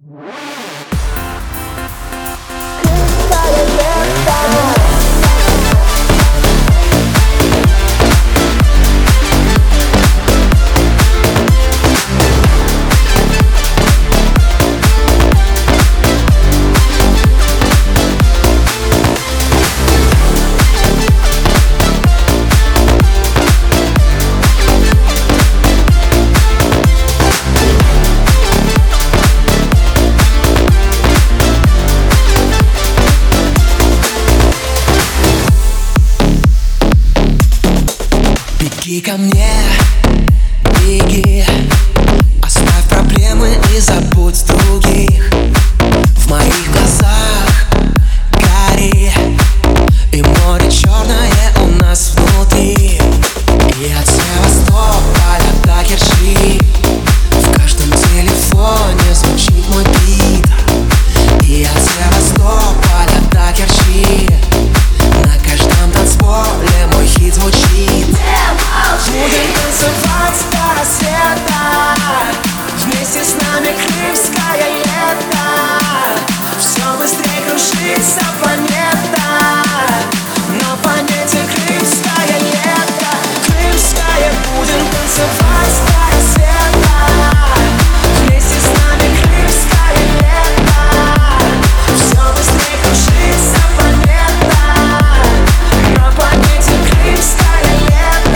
Беги ко мне, беги, оставь проблемы и забудь других. В моих глазах гори, и море черное у нас внутри. И от Севастополя до Керчи в каждом телефоне звучит мой бит. И от Севастополя до Керчи на каждом танцполе мой хит звучит. Будем танцевать до рассвета, вместе с нами крымское лето. Все быстрее кружится планета, на планете крымское лето. Крымское, будем танцевать до рассвета, вместе с нами крымское лето. Все быстрее кружится планета, на планете крымское лето.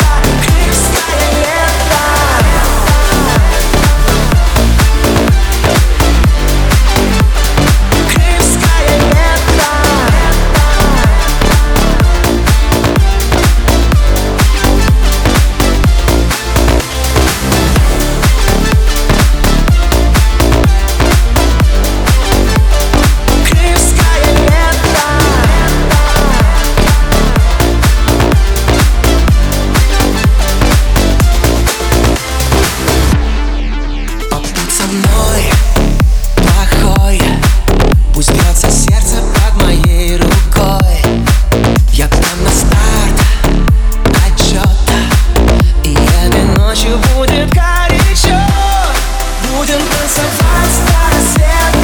Пусть бьется сердце под моей рукой. Я дам на старт отчета, и этой ночью будет горячо. Будем танцевать до рассвета.